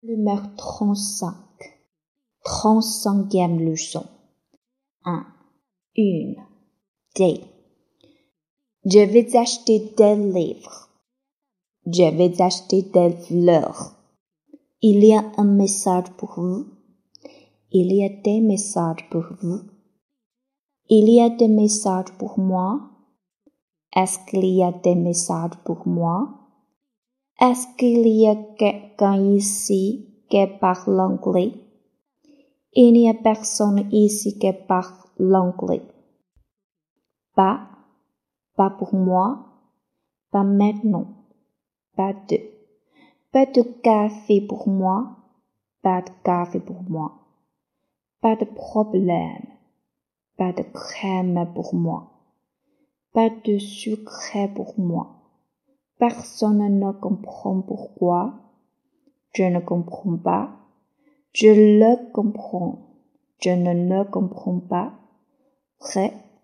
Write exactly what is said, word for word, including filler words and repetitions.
Numéro trente-cinq. trente-cinquième leçon. un. Une. Des. Je vais acheter des livres. Je vais acheter des fleurs. Il y a un message pour vous. Il y a des messages pour vous. Il y a des messages pour moi. Est-ce qu'il y a des messages pour moi? Est-ce qu'il y a quelqu'un ici qui parle anglais? Il n'y a personne ici qui parle l'anglais. Pas, pas pour moi, pas maintenant, pas de, pas de café pour moi, pas de café pour moi, pas de problème, pas de crème pour moi, pas de sucre pour moi. Personne ne comprend pourquoi. Je ne comprends pas. Je le comprends. Je ne le comprends pas. Vrai